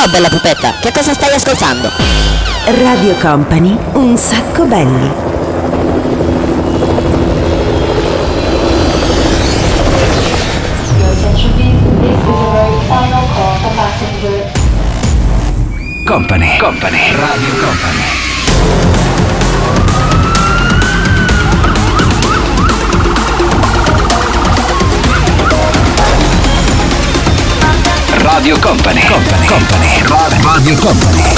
Ciao bella pupetta, che cosa stai ascoltando? Radio Company, un sacco belli. Company, Radio Company. Radio Company. Radio Company.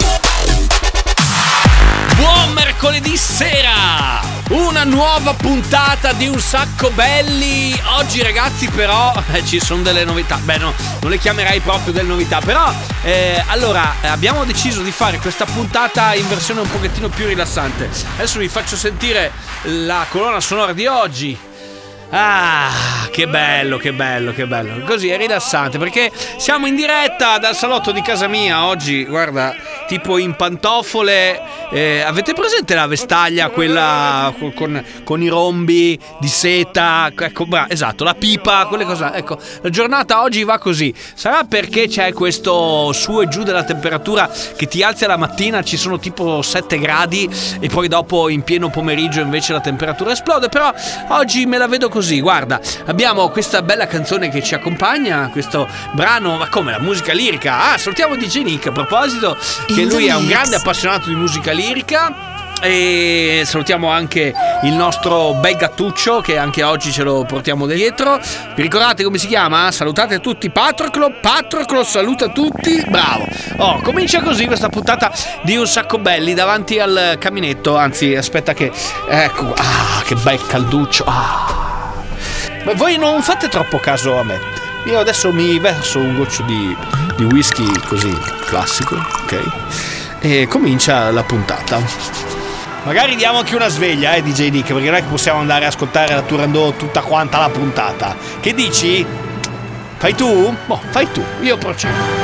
Buon mercoledì sera! Una nuova puntata di Un Sacco Belli. Oggi ragazzi però ci sono delle novità. Beh no, non le chiamerei proprio delle novità. Però allora abbiamo deciso di fare questa puntata in versione un pochettino più rilassante. Adesso vi faccio sentire la colonna sonora di oggi. Ah, che bello. Così è rilassante perché siamo in diretta dal salotto di casa mia oggi, guarda, tipo in pantofole. Avete presente la vestaglia, quella con i rombi di seta? Ecco, esatto, la pipa, quelle cose. Ecco, la giornata oggi va così. Sarà perché c'è questo su e giù della temperatura che ti alzi alla mattina, ci sono tipo 7 gradi e poi dopo in pieno pomeriggio invece la temperatura esplode. Però oggi me la vedo così, guarda, abbiamo questa bella canzone che ci accompagna, questo brano, ma come, la musica lirica? Salutiamo DJ Nick a proposito, che lui è un grande appassionato di musica lirica. E salutiamo anche il nostro bel gattuccio che anche oggi ce lo portiamo dietro. Vi ricordate come si chiama? Salutate tutti Patroclo saluta tutti, bravo. Comincia così questa puntata di Un Sacco Belli davanti al caminetto. Anzi, aspetta che, ecco, che bel calduccio. Ma voi non fate troppo caso a me. Io adesso mi verso un goccio di whisky così classico, ok? E comincia la puntata. Magari diamo anche una sveglia, DJ Nick, perché non è che possiamo andare a ascoltare la Turandot tutta quanta la puntata. Che dici? Fai tu? Boh, fai tu, io procedo.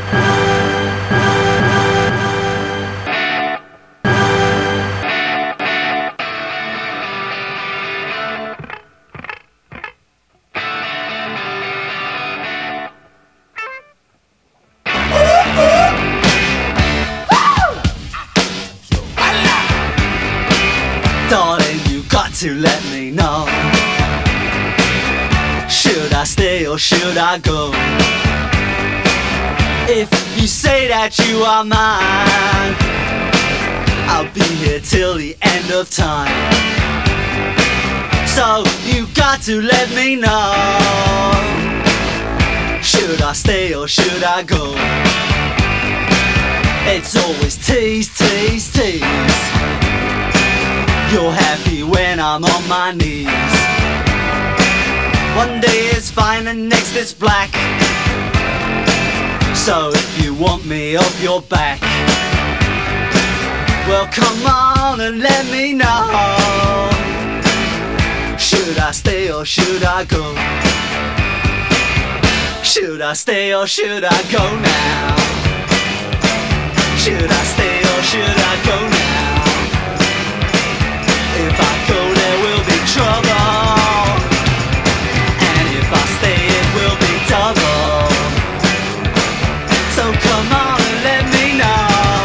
To let me know, should I stay or should I go? If you say that you are mine, I'll be here till the end of time. So you got to let me know, should I stay or should I go? It's always tease, tease, tease. You're happy when I'm on my knees. One day it's fine and next it's black. So if you want me off your back, well come on and let me know, should I stay or should I go? Should I stay or should I go now? Should I stay or should I go now? If I go there will be trouble, and if I stay it will be double. So come on and let me know.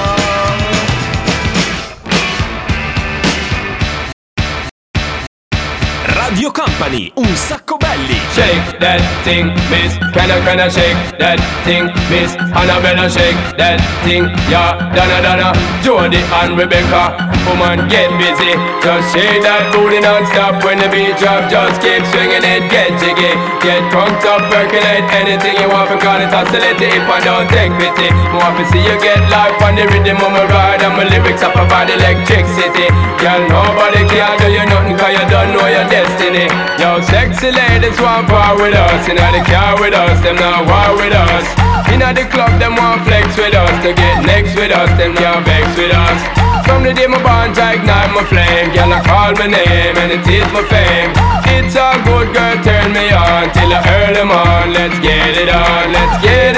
Radio Company, Un Sacco Belli. Shake that thing, miss. Can I shake that thing, miss? Annabella, shake that thing, yeah. Donna, Jody and Rebecca. Woman, get busy. Just shake that booty non-stop. When the beat drop, just keep swinging it. Get jiggy, get crunked up, percolate. Anything you want, call it oscillate. If I don't take pity, more to see you get life on the rhythm of my ride. And my lyrics up about electricity. Girl, nobody can do you nothing, cause you don't know your destiny. Yo, sexy ladies want part with us. Inna the car with us, them not war with us. Inna the club, them want flex with us. To get next with us, them can't vex with us. From the day my bond, I ignite my flame. Girl, I call my name and it is my fame. It's all good, girl, turn me on till I earn them on. Let's get it on, let's get it on.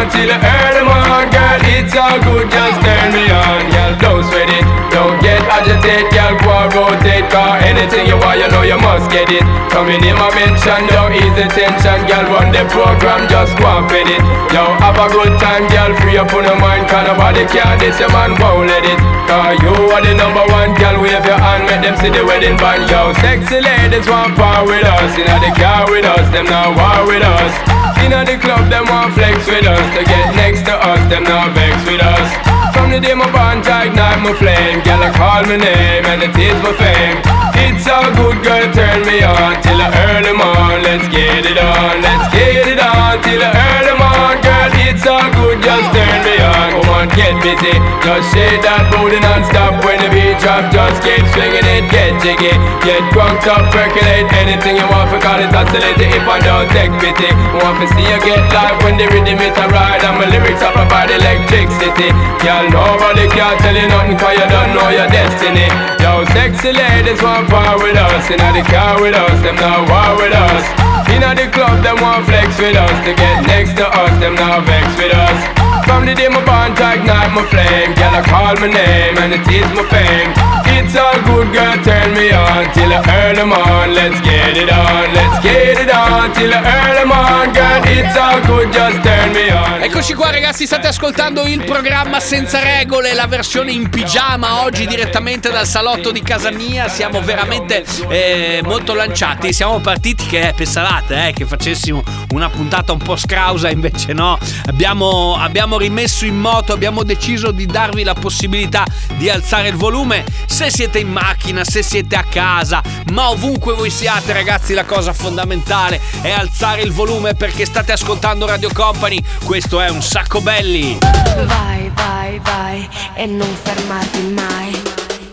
on till the early morning. Girl, it's all good, just turn me on. Girl, don't sweat it, don't get agitated. Girl, go and rotate, cause anything you want, you know you must get it. Come in my mention, don't ease the tension. Girl, run the program, just go and fit it. Yo, have a good time, girl, free up on your mind. Cause nobody can this, your man won't let it. Cause you are the number one, girl, wave your hand, make them see the wedding band. Yo, sexy ladies want power with us. Inna the car with us, them now war with us. Inna the club, them want flex with us. To get next to us, them now vex with us. From the day my bond to ignite my flame, girl, I call my name and it is my fame. It's all good, girl, turn me on till the early morn. Let's get it on, let's get it on till the early morn. Girl, it's all good, just turn me on. Come on, get busy, just shake that booty non-stop. When the beat drop, just keep swinging it, get jiggy. Get crunked up, percolate anything you want, for call it oscillator if I don't take pity. Want to see you get live when the rhythm it a ride. And my lyrics up about electricity. Girl, nobody can tell you nothing, cause you don't know your destiny. Yo, sexy ladies want power with us. Inna the car with us, them now war with us. Inna the club, them want flex with us. To get next to us, them now vex with us. From the day my bond to ignite my flame, girl, I call my name and it is my fame. It's all good, girl, turn me on till the early morn. Let's get it on, let's get it on till the early morn. Girl, it's all good, just turn me on. Eccoci qua ragazzi, state ascoltando il programma Senza Regole, la versione in pigiama oggi direttamente dal salotto di casa mia. Siamo veramente molto lanciati, siamo partiti che pensavate che facessimo una puntata un po' scrausa, invece no, abbiamo rimesso in moto, abbiamo deciso di darvi la possibilità di alzare il volume se siete in macchina, se siete a casa, ma ovunque voi siate ragazzi, la cosa fondamentale è alzare il volume perché state ascoltando Radio Company. Questo è Un Sacco Belli. Vai, vai, vai e non fermarti mai.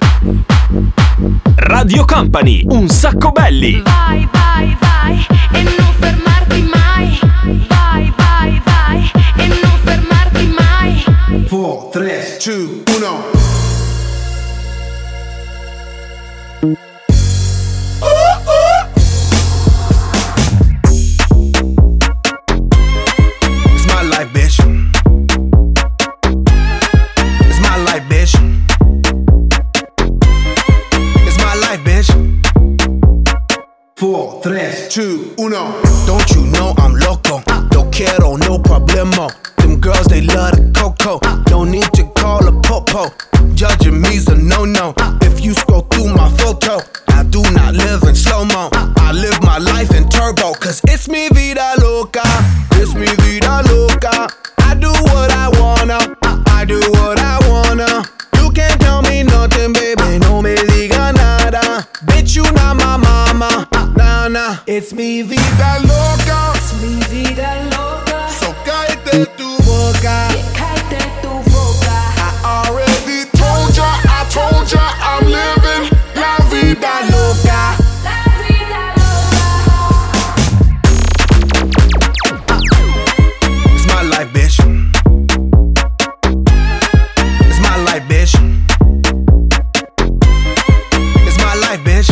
Radio Company, Un Sacco Belli. Vai, vai, vai e non fermarti mai. Vai, vai, vai e non fermarti mai. 4, 3, 2, 1. It's my life, bitch. It's my life, bitch. It's my life, bitch. 4, 3, 2, 1. Don't you know I'm loco? No quiero, no problemo. Them girls, they love the cocoa. No need to call a popo. Judging me's a no-no. If you scroll through my photo, I do not live in slow-mo. I live my life in turbo, cause it's mi vida loca. It's mi vida loca. I do what I wanna. I do what I wanna. You can't tell me nothing, baby. No me diga nada. Bitch, you not my mama. Nah, nah. It's mi vida loca. It's mi vida loca. So cállate tu boca. Cállate tu boca. I already told ya I'm living la vida loca. La vida loca. It's my life, bitch. It's my life, bitch. It's my life, bitch.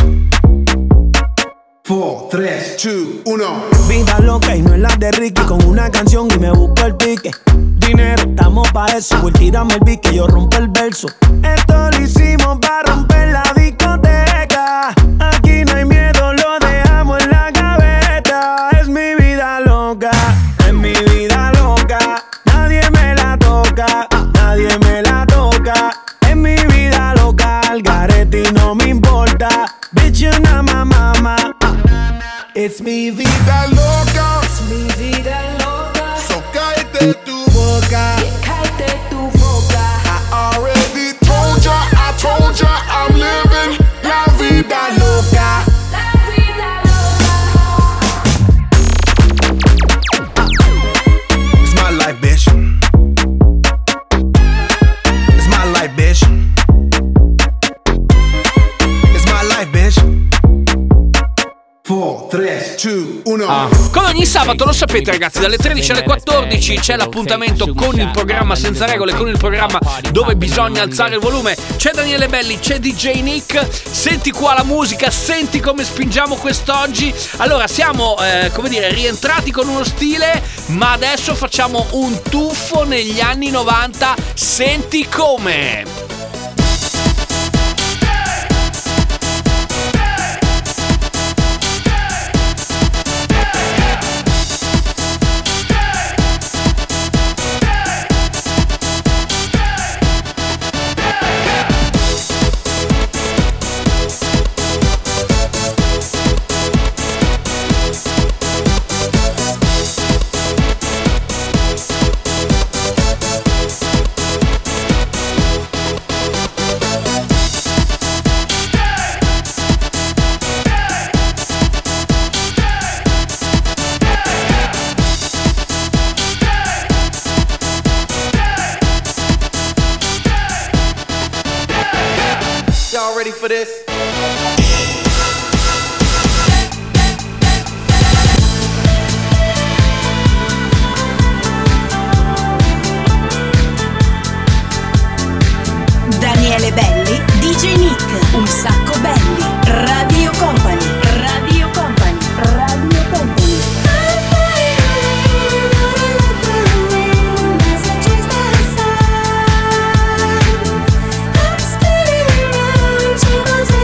4, 3, 2, 1. Vida loca y no es la de Ricky. Con una canción y me busco el pique. Dinero, estamos pa' eso. Voy, tírame el beat que yo rompo el verso. Esto lo hicimos pa' romper la discoteca. Aquí no hay miedo, lo dejamos en la gaveta. Es mi vida loca, es mi vida loca. Nadie me la toca, nadie me la toca. Es mi vida loca, al garete y no me importa. Bitch, you're not my mama. It's mi vida loca. Es mi vida loca. So cállate tu boca. Cállate tu boca. I already told ya I'm living la vida loca. La vida loca. It's my life, bitch. It's my life, bitch. It's my life, bitch. 4, 4, 3, 2, 1. Come ogni sabato, lo sapete ragazzi, dalle 13 alle 14 c'è l'appuntamento con il programma Senza Regole, con il programma dove bisogna alzare il volume. C'è Daniele Belli, c'è DJ Nick. Senti qua la musica, senti come spingiamo quest'oggi. Allora siamo, rientrati con uno stile, ma adesso facciamo un tuffo negli anni 90. Senti come. Y'all ready for this? Daniele Belli, DJ Nick, un sacco belli. Radio Company, Radio Company, Radio Company. I'm spinning around, tables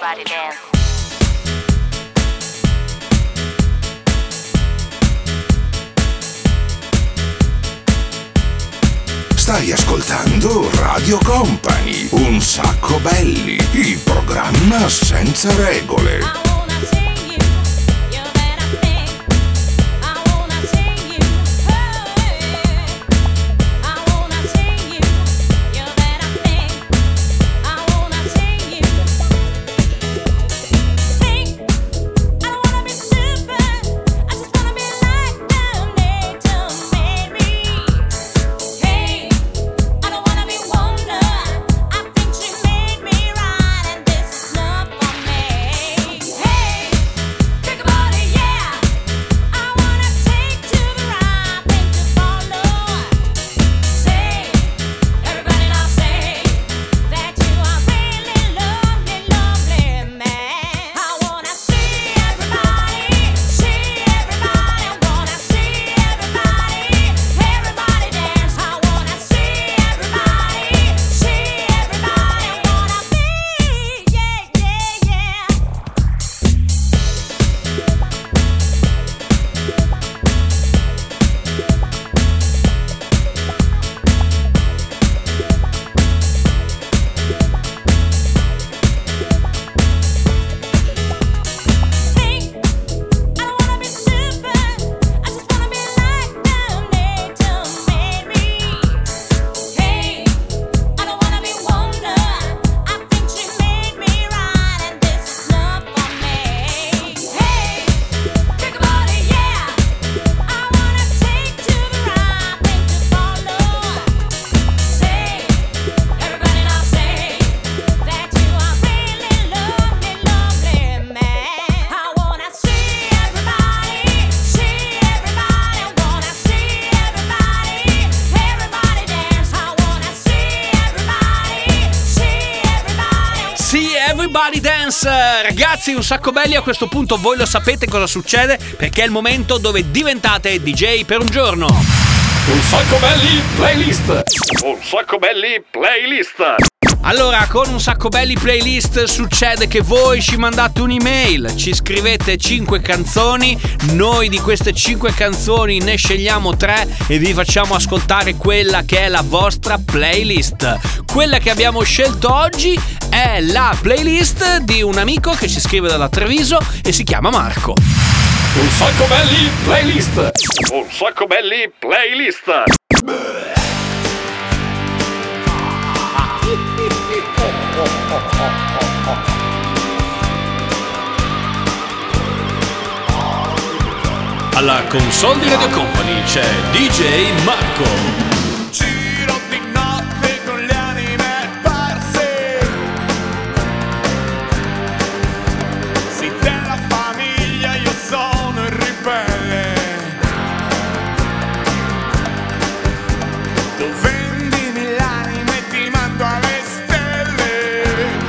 everybody dance. Stai ascoltando Radio Company, un sacco belli, il programma senza regole. Everybody Dance. Ragazzi, un sacco belli, a questo punto voi lo sapete cosa succede, perché è il momento dove diventate DJ per un giorno. Un sacco belli playlist. Un sacco belli playlist. Allora, con un sacco belli playlist succede che voi ci mandate un'email, ci scrivete 5 canzoni, noi di queste 5 canzoni ne scegliamo 3 e vi facciamo ascoltare quella che è la vostra playlist. Quella che abbiamo scelto oggi è la playlist di un amico che ci scrive dalla Treviso e si chiama Marco. Un sacco belli playlist. Un sacco belli playlist. Alla console di Radio Company c'è DJ Marco. Giro di notte con le anime perse. Sì, della famiglia io sono il ribelle. Tu vendimi l'anima e ti mando alle stelle.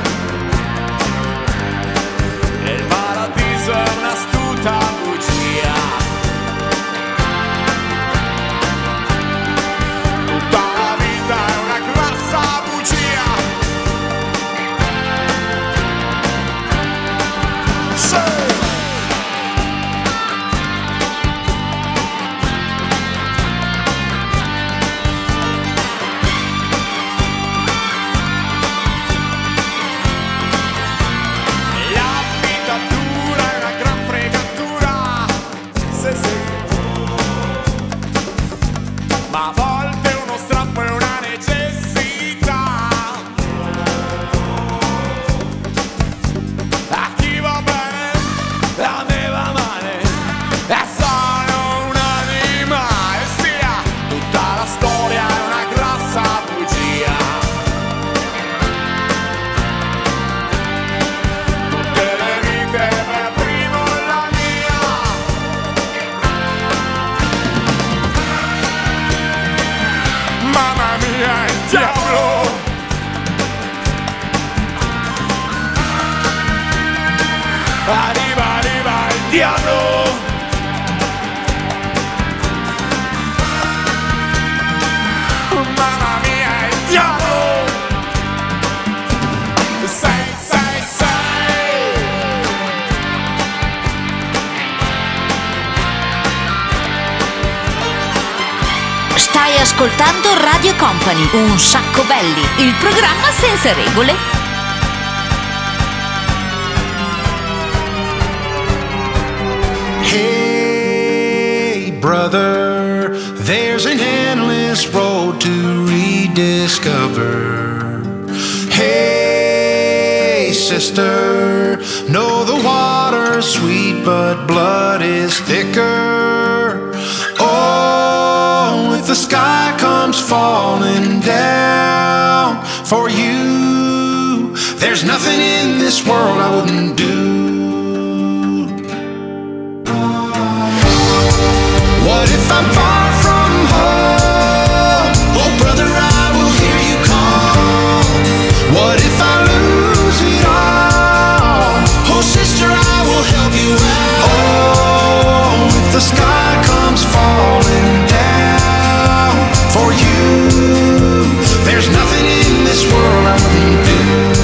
E il paradiso è un'astuta bugia. Ma a volte uno strappo è una necessità. A chi va bene, a me va male. E sono un animale, sia tutta la storia è una grassa bugia. Tutte le vite per primo la mia. Mamma mia, il diavolo! Arriva il diavolo! Mamma mia, il diavolo! 666 ascoltando Radio Company, un sacco belli, il programma senza regole. Hey brother, there's an endless road to rediscover. Hey sister, know the water's sweet but blood is thicker. Oh, if the sky comes falling down for you, there's nothing in this world I wouldn't do. What if I'm far from home? Oh brother, I will hear you call. What if I lose it all? Oh sister, I will help you out. Oh, if the sky comes falling down for you, there's nothing in this world I wouldn't do.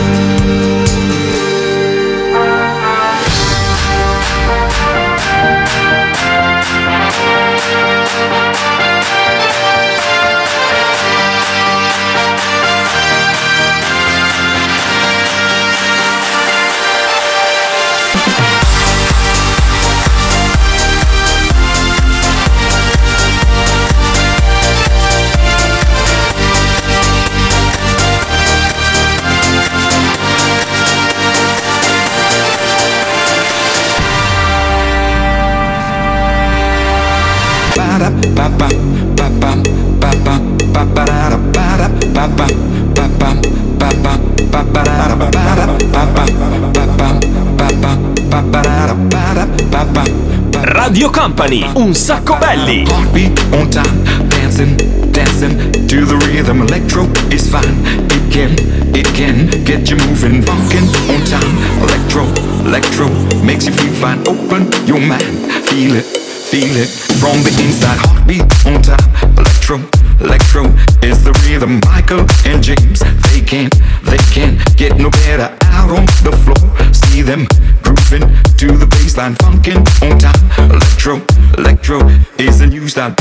Radio Company, un sacco belli. Heartbeat on time, dancing, dancing to the rhythm. Electro is fine, it can get you moving. Funkin' on time, electro makes you feel fine. Open your mind, feel it from the inside. Heartbeat on time, electro is the rhythm. Michael and James, they can't get no better out on the floor. See them grooving to the baseline. Funkin' on time, electro is the new style.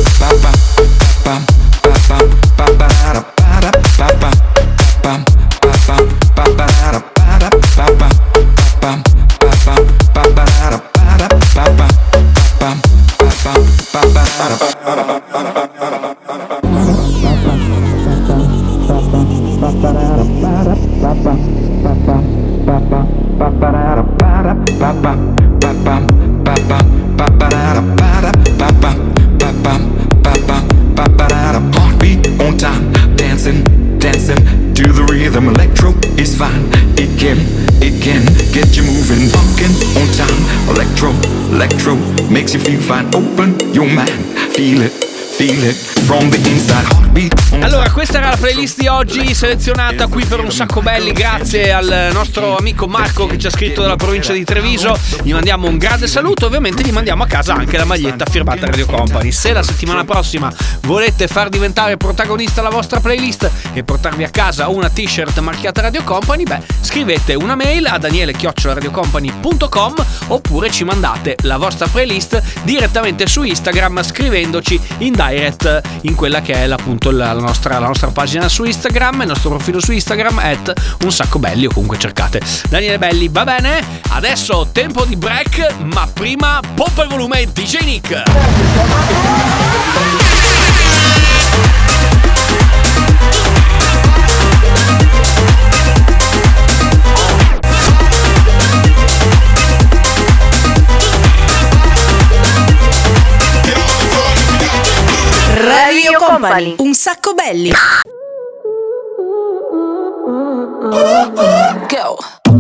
Heartbeat on time, dancing to the rhythm. Electro is fine, it can get you moving. Funkin' on time, electro makes you feel fine. Open your mind, feel it from the inside. Heartbeat on time. Allora, questa era la playlist di oggi selezionata qui per un sacco belli grazie al nostro amico Marco che ci ha scritto dalla provincia di Treviso. Gli mandiamo un grande saluto, ovviamente gli mandiamo a casa anche la maglietta firmata Radio Company. Se la settimana prossima volete far diventare protagonista la vostra playlist e portarvi a casa una t-shirt marchiata Radio Company, scrivete una mail a daniele@radiocompany.com oppure ci mandate la vostra playlist direttamente su Instagram scrivendoci in direct in quella che è appunto la nostra pagina su Instagram, il nostro profilo su Instagram @unsaccobelli o comunque cercate Daniele Belli. Va bene? Adesso tempo di break, ma prima poppa il volume DJ Nick. Radio Company, un sacco belli. Go.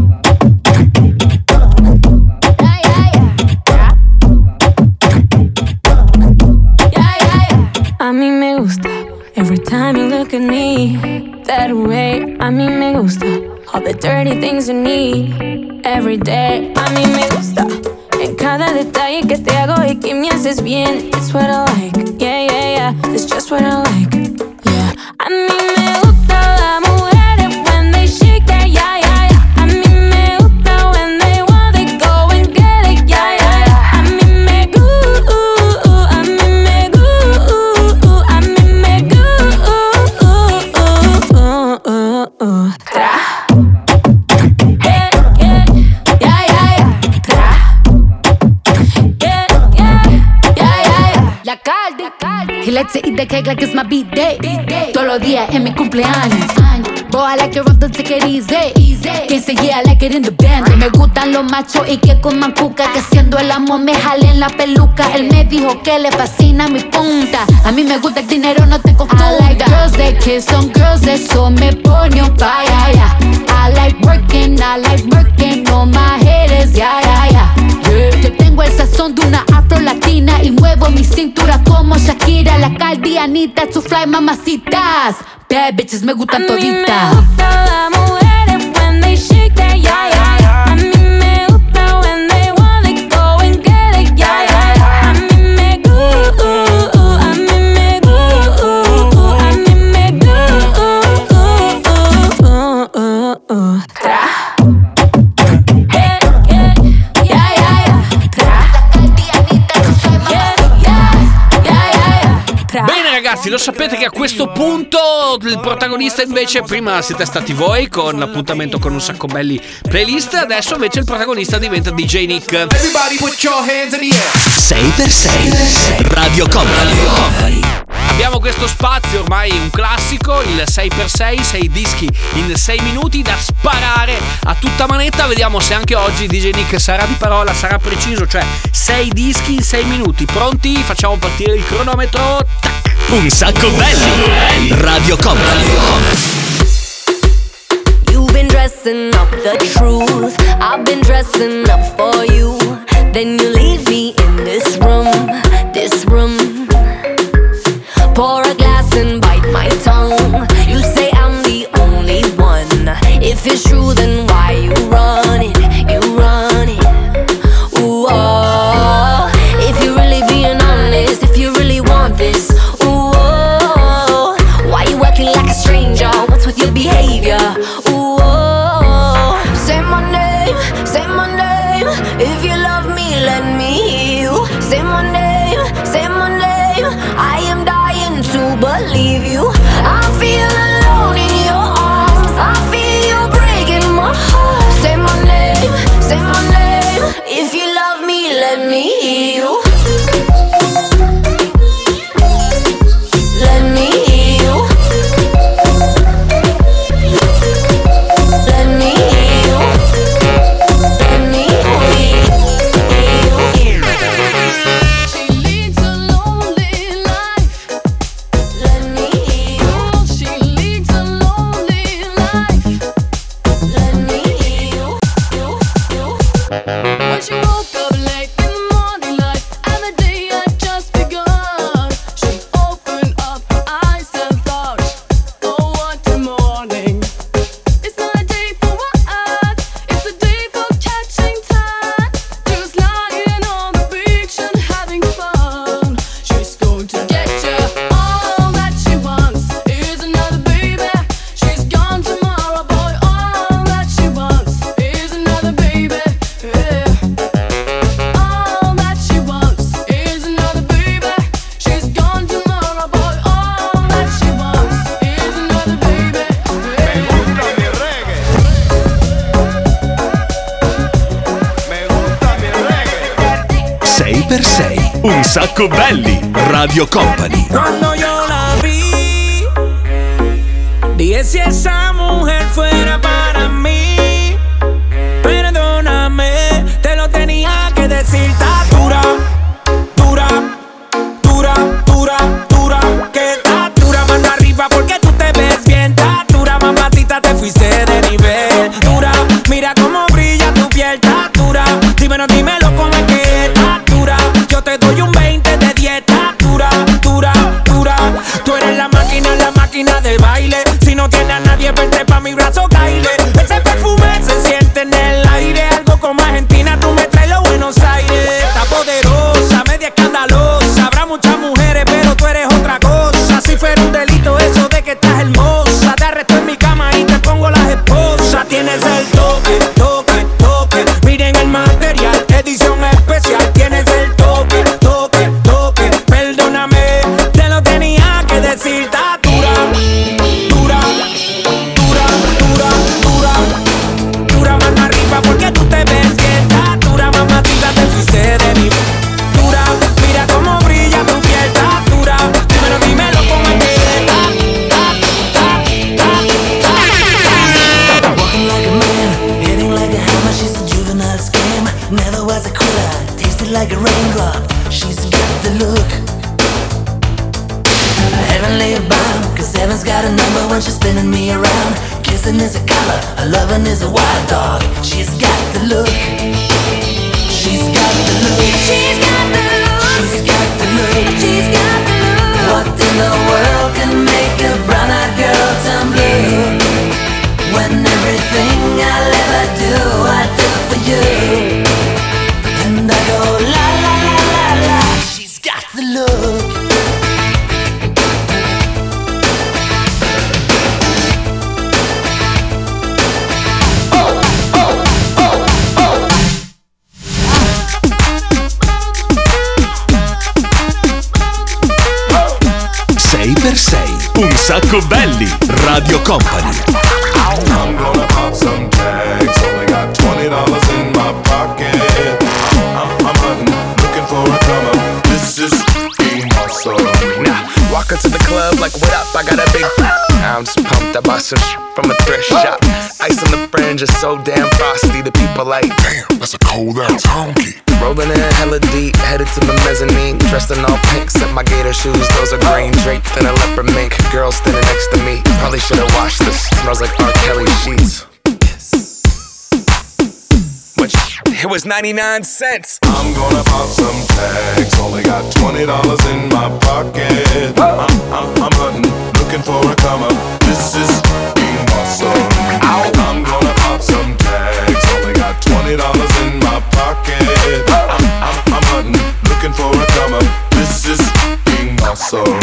A mí me gusta every time you look at me that way. A mí me gusta all the dirty things you need every day. A mí me gusta en cada detalle que te hago y que me haces bien. It's what I like, yeah, yeah, yeah. It's just what I like, yeah. A mí me gusta la mujeres when they shake their yeah, yeah, yeah. A mí me gusta when they want they go and get it, yeah, yeah, yeah. A mí me gusta, a mí me gusta, a mí me gusta. cake like it's my B-day. Todos los días es mi cumpleaños. Boy, I like it rough, don't take it easy. Quien se yeah, I like it in the band. Me gustan los machos y que coman cuca, que siendo el amor me jalen la peluca. Él me dijo que le fascina mi punta. A mí me gusta el dinero, no te confunda. I like girls that kiss on girls, eso me pone on fire, yeah. I like working on my haters, yeah. Yo tengo el sazón de una afro latina y muevo mi cintura como Shakira, la Caldianita, to fly mamacitas. Bad bitches me gustan toditas. Las mujeres when they shake that yeah. A mí me gusta when they wanna go and get it yeah. A mí me gusta, a mí me gusta, a mí me gusta. Bene ragazzi, lo sapete che a questo punto il protagonista invece, prima siete stati voi con l'appuntamento con Un Sacco Belli playlist, adesso invece il protagonista diventa DJ Nick. Everybody put your hands in the air. 6x6 Radio Company. Abbiamo questo spazio ormai un classico, il 6x6, 6 dischi in 6 minuti da sparare a tutta manetta. Vediamo se anche oggi DJ Nick sarà di parola, sarà preciso, cioè 6 dischi in 6 minuti. Pronti? Facciamo partire il cronometro. Tac. Un Sacco Belli Radio Company. You've been dressing up the truth, I've been dressing up for you. Then you leave me in this room. Pour a glass and bite my tongue. You say I'm the only one. If it's true, then why you run it? Ooh, oh. If you're really being honest, if you really want this, ooh, oh. Why you acting like a stranger? What's with your behavior? Ooh, oh. Say my name. If you love me, let me hear you. Say my name. I am dying to believe you. I feel alone in your arms. I feel you breaking my heart. Say my name. If you love me, let me hear you. Let me hear you. Let me hear you. Let me hear you. She leads a lonely life. Let me hear you. She leads a lonely life. Let me hear you. When she woke up late in the morning light, and the day had just begun, she opened up her eyes and thought, oh what a morning. It's not a day for what, it's a day for catching time. Just lying on the beach and having fun. She's going to get you. All that she wants is another baby. She's gone tomorrow, boy. All that she wants is another baby. Yeah. All that she wants is another baby. She's gone tomorrow, boy. All that she wants is another baby. Me gusta mi reggae. Me gusta mi reggae. 6x6 Un Sacco Belli Radio Company. Cuando yo la vi, dije si esa mujer fuera para mí. Perdóname, te lo tenía que decir. Está dura, que está dura, mano arriba porque tú te ves bien. Está dura, mamacita, te fuiste de nivel. Dura, mira cómo brilla tu piel. Está dura, dímelo cómo es que está dura. Yo te doy un 20 de 10. Está dura. Tú eres la máquina de baile. Si no tienes a nadie, vente pa' mi brazo, caile. Ese perfume se siente en el aire. Algo como Argentina, tú me traes los Buenos Aires. Está poderosa, media escandalosa. Habrá muchas mujeres, pero tú eres otra cosa. Si fuera un delito eso de que estás hermosa, te arresto en mi cama y te pongo las esposas. Tienes el toque. Miren el material, edición especial. Tienes el toque. Perdóname, te lo tenía que decir. Está dura, mano arriba porque tú te ves bien. Está dura, mamacita, te fuiste de mí. Dura, mira cómo brilla tu piel. Está dura, dímelo got a number when she's spinning me around. Kissing is a color, a loving is a wild dog. She's got the look. She's got the look. She's got the look. She's got the look. She's got the look. What in the world can make a brown-eyed girl turn blue? When everything I'll ever do, I do for you. And I go la la la la la. She's got the look. Un sacco belli, Radio Company. I'm gonna pop some tags. Only got $20 in my pocket. I'm hunting, looking for a come up. This is being awesome. Nah, walk into the club like, what up? I got a big. I'm just pumped. I bought some from a thrift shop. Ice on the fringe is so damn frosty. The people like, damn, that's a cold ass honky. Rolling in hella deep, headed to the mezzanine. Dressed in all pink, except my gator shoes, those are green. Draped in a leopard mink, girl standing next to me. Probably should've washed this, smells like R. Kelly sheets. But it was 99 cents. I'm gonna pop some tags. Only got $20 in my pocket. I'm hunting, looking for a come up. This is being awesome. I'm gonna pop some tags. Only got $20 in my pocket. I'm hunting, looking for a come up. This is being awesome.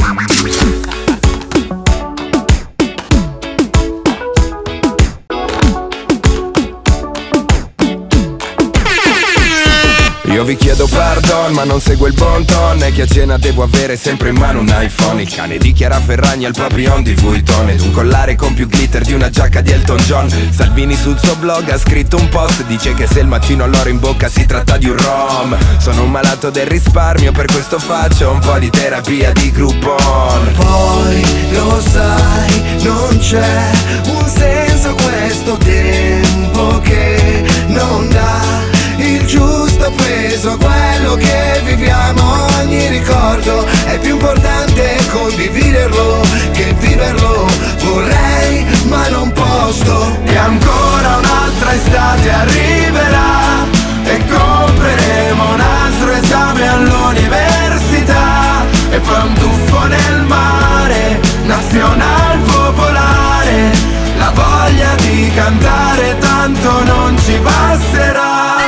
Io vi chiedo pardon, ma non seguo il bon ton. E che a cena devo avere sempre in mano un iPhone. Il cane di Chiara Ferragni al papillon di Vuitton. Ed un collare con più glitter di una giacca di Elton John. Salvini sul suo blog ha scritto un post. Dice che se il mattino ho l'oro in bocca si tratta di un rom. Sono un malato del risparmio, per questo faccio un po' di terapia di Groupon. Poi lo sai, non c'è un senso questo tempo che non dà il giusto peso a quello che viviamo. Ogni ricordo è più importante condividerlo che viverlo. Vorrei ma non posso. E ancora un'altra estate arriverà e compreremo un altro esame all'università. E poi un tuffo nel mare, nazional popolare. La voglia di cantare tanto non ci basterà.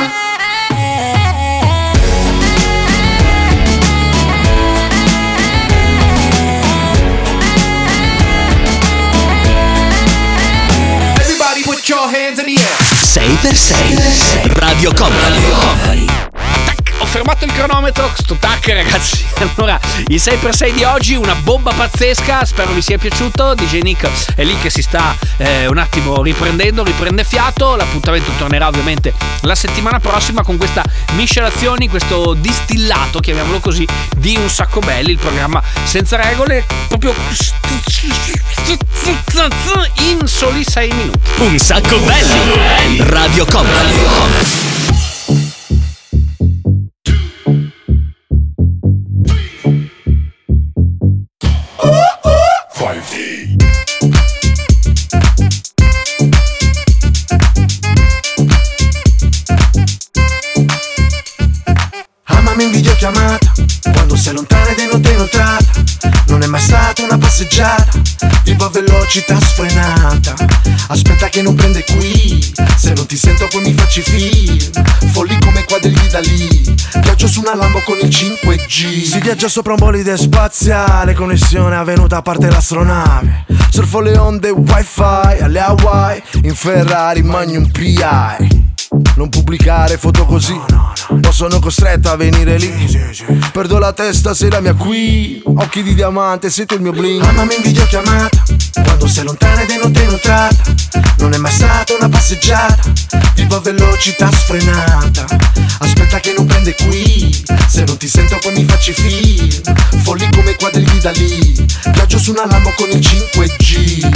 Put your hands in the air. 6x6 Radio Company. Ho fermato il cronometro, sto tac ragazzi. Allora, il 6x6 di oggi, una bomba pazzesca, spero vi sia piaciuto. DJ Nick è lì che si sta un attimo riprende fiato. L'appuntamento tornerà ovviamente la settimana prossima con questa miscelazione, questo distillato, chiamiamolo così, di Un Sacco Belli, il programma senza regole, proprio in soli 6 minuti. Un Sacco Belli, Radio Company. Amami in videochiamata, quando sei lontana ed è notte inoltrata. Non è mai stata una passeggiata, vivo a velocità sfrenata. Aspetta che non prende qui, se non ti sento poi mi faccio i film. Folli come quadri di Dalì, viaggio su una Lambo con il 5G. Si viaggia sopra un bolide spaziale, connessione avvenuta a parte l'astronave. Surfo le onde wifi alle Hawaii, in Ferrari Magnum PI. Non pubblicare foto così, no, sono costretto a venire lì. Perdo la testa se la mia qui. Occhi di diamante, sento il mio bling. Amami in videochiamata, quando sei lontana ed è notte inoltrata. Non è mai stata una passeggiata, vivo a velocità sfrenata. Aspetta che non prende qui, se non ti sento poi mi faccio i film. Folli come quadri di Dalì, viaggio su una Lambo con il 5G.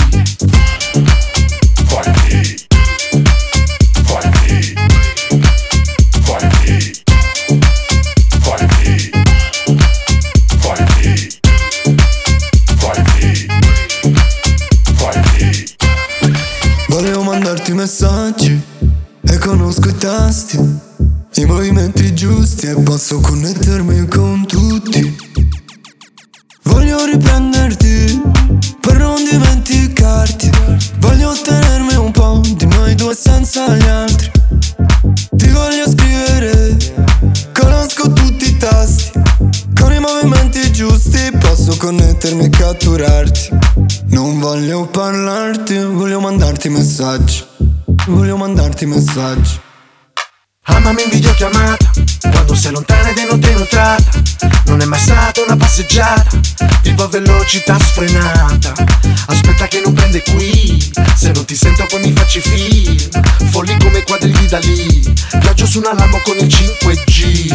messaggi e conosco i tasti, i movimenti giusti e posso connettermi con tutti. Voglio riprenderti per non dimenticarti, voglio ottenermi un po' di noi due senza gli altri. Ti voglio scrivere, conosco tutti i tasti, con i movimenti giusti posso connettermi e catturarti. Non voglio parlarti, voglio mandarti messaggi, voglio mandarti messaggi. Amami in videochiamata, quando sei lontana ed inoltrata. Non è mai stata una passeggiata, vivo a velocità sfrenata. Aspetta che non prende qui, se non ti sento poi mi faccio i film. Folli come quadri di Dalì, viaggio su una Lambo con il 5G.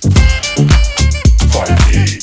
5G.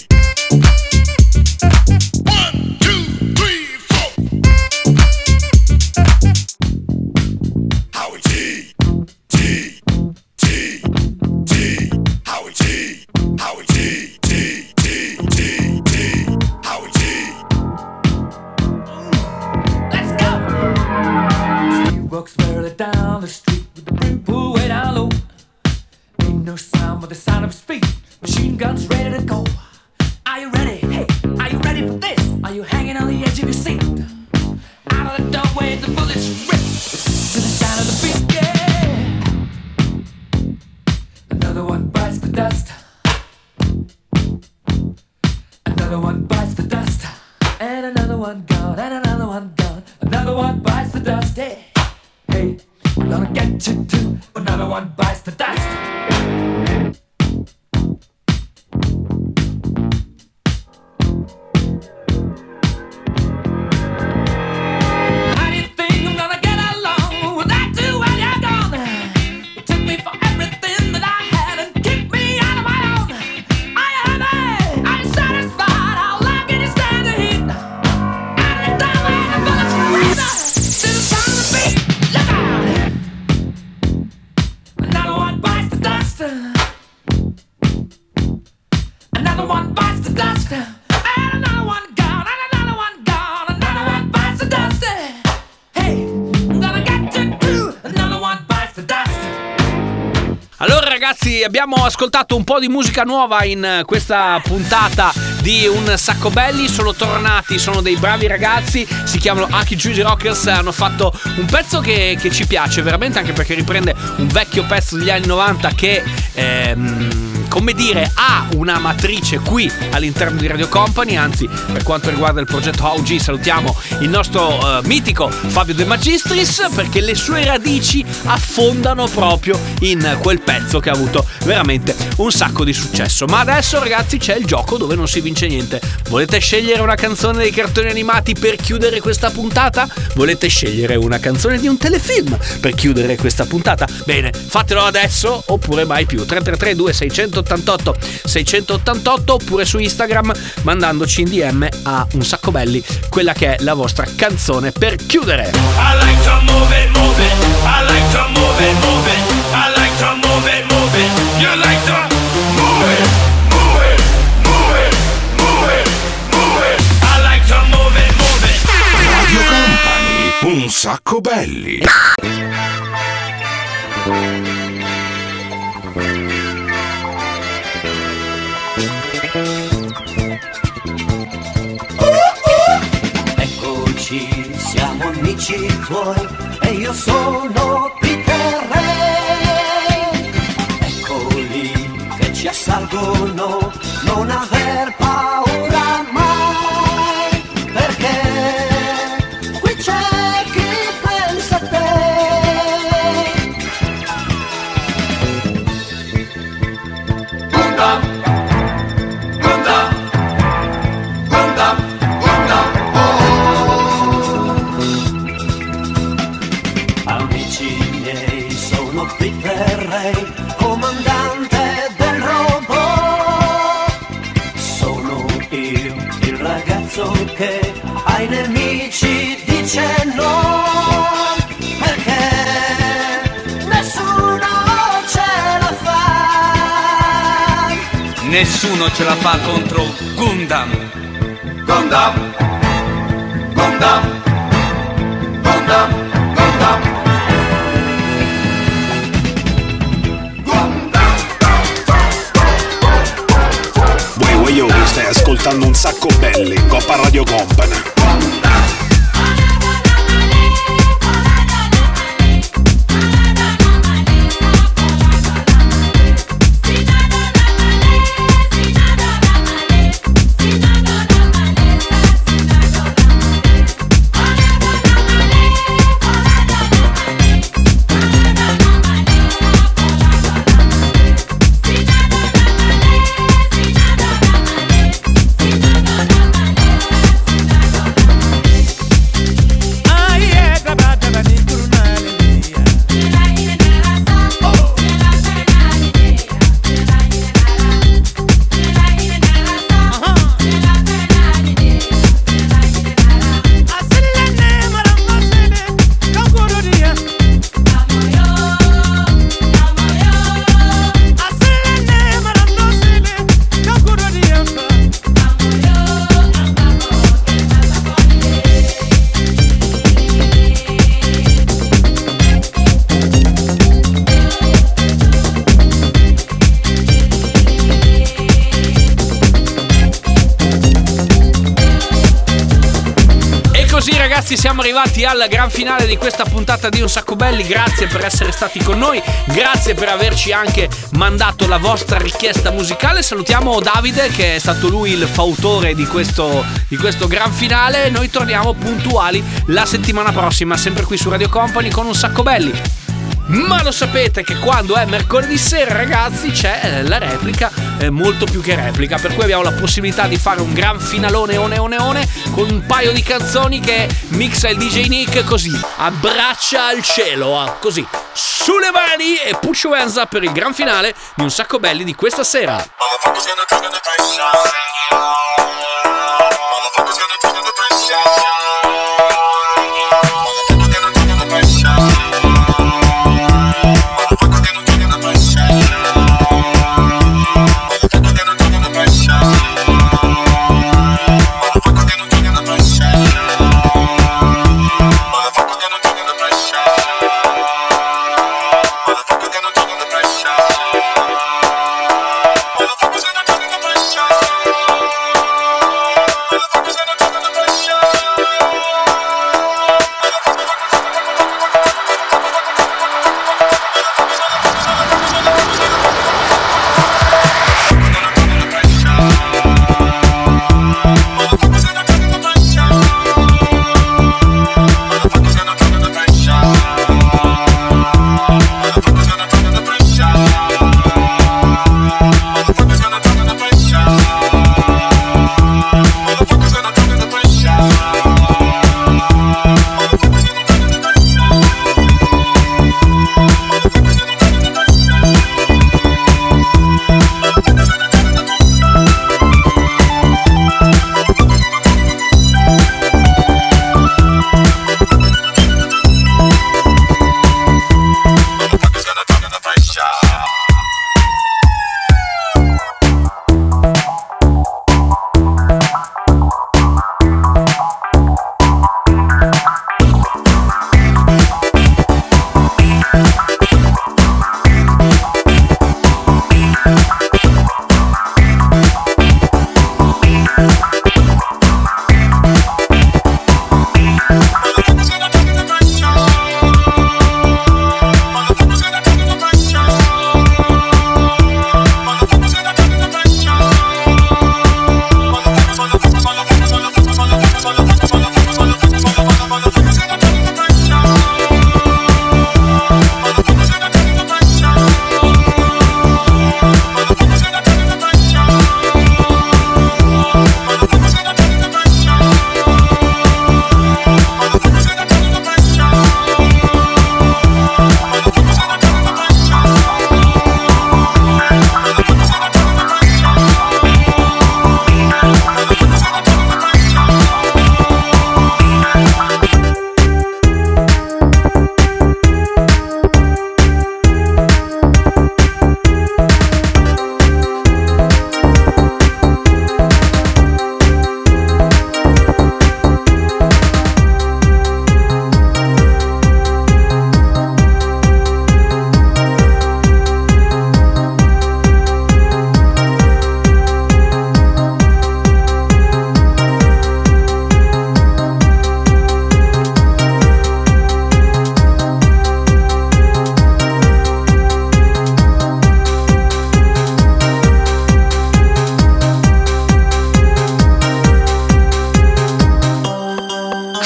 Walks barely down the street with the brim pulled way down low. Ain't no sound but the sound of his feet. Machine guns ready to go. Are you ready? Hey, are you ready for this? Are you hanging on the edge of your seat? Out of the doorway the bullets rip to the sound of the beat, yeah. Another one bites the dust. Another one bites the dust. And another one gone, and another one gone. Another one bites the dust, yeah. Hey, I'm gonna get you too. Another one bites the dust. How do you think I'm gonna get along without you when you're gone? You took me for everything that I had and kicked me out of my own. Are you happy? Are you satisfied? How long can you stand the heat? Out of the doorway, the bullets breathe out to the sound of the beat. Look out! Another one bites the dust. Another one bites the dust. And another one gone. And another one gone. Another one bites the dust. Hey, I'm gonna get you too. Another one bites the dust. Allora ragazzi, abbiamo ascoltato un po' di musica nuova in questa puntata di Un Sacco Belli. Sono tornati, sono dei bravi ragazzi, si chiamano Aki Juicy Rockers. Hanno fatto un pezzo che ci piace veramente, anche perché riprende un vecchio pezzo degli anni 90 che come dire, ha una matrice qui all'interno di Radio Company. Anzi, per quanto riguarda il progetto OG, salutiamo il nostro mitico Fabio De Magistris, perché le sue radici affondano proprio in quel pezzo che ha avuto veramente un sacco di successo. Ma adesso ragazzi c'è il gioco dove non si vince niente. Volete scegliere una canzone dei cartoni animati per chiudere questa puntata? Volete scegliere una canzone di un telefilm per chiudere questa puntata? Bene, fatelo adesso oppure mai più. 333 688 688 oppure su Instagram mandandoci in DM a Un Sacco Belli quella che è la vostra canzone per chiudere. I like to move it, move it. I like to move it, move it. I like to move it, move it. You like to move it, move it, move it, move it, move it. I like to move it, move it. Radio Company, Un Sacco Belli. Eccoci, siamo amici tuoi e io sono Peter Re. Eccoli che ci assalgono, non aver paura mai, perché qui c'è chi pensa a te. Gundam, Gundam, Gundam, Gundam, amici miei, sono Peter Ray, comandante del robot. Sono io, il ragazzo che ai nemici dice no, perché nessuno ce la fa. Nessuno ce la fa contro Gundam. Gundam, Gundam, Gundam, Gundam. Company. Ragazzi, siamo arrivati al gran finale di questa puntata di Un Sacco Belli. Grazie per essere stati con noi, grazie per averci anche mandato la vostra richiesta musicale. Salutiamo Davide, che è stato lui il fautore di questo gran finale. Noi torniamo puntuali la settimana prossima, sempre qui su Radio Company con Un Sacco Belli. Ma lo sapete che quando è mercoledì sera, ragazzi, c'è la replica, molto più che replica, per cui abbiamo la possibilità di fare un gran finalone one con un paio di canzoni che mixa il DJ Nick, così a braccia al cielo, così sulle mani, e push your hands up per il gran finale di Un Sacco Belli di questa sera.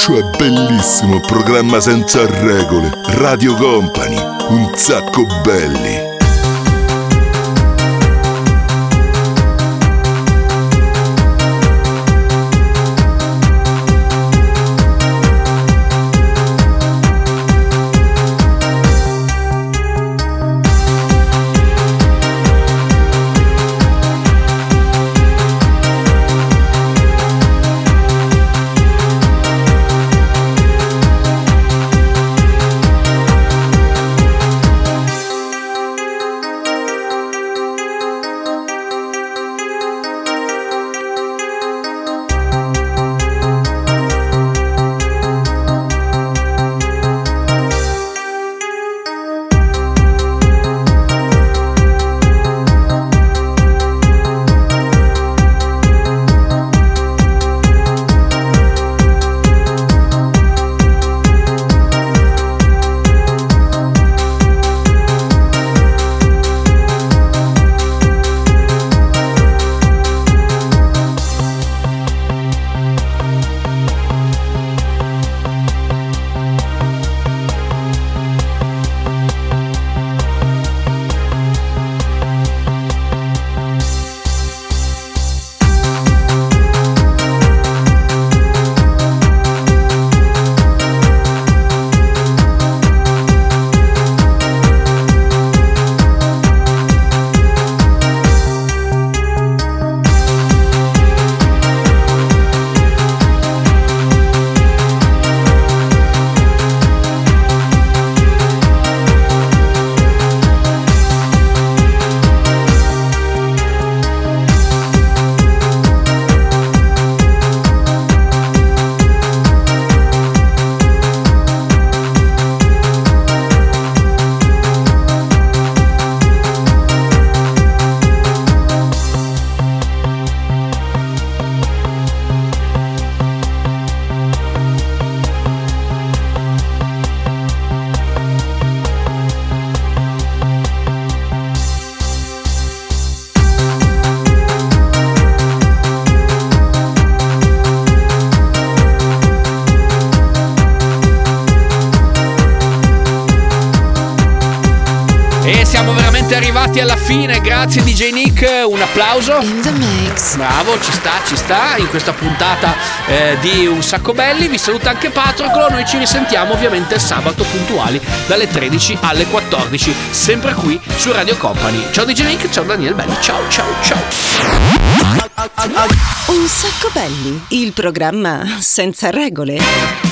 Questo è bellissimo, programma senza regole. Radio Company, un sacco belli. Siamo veramente arrivati alla fine, grazie DJ Nick, un applauso. In the mix. Bravo, ci sta in questa puntata di Un Sacco Belli. Vi saluta anche Patroclo, noi ci risentiamo ovviamente sabato puntuali dalle 13 alle 14, sempre qui su Radio Company. Ciao DJ Nick, ciao Daniele Belli, ciao. Un Sacco Belli, il programma senza regole.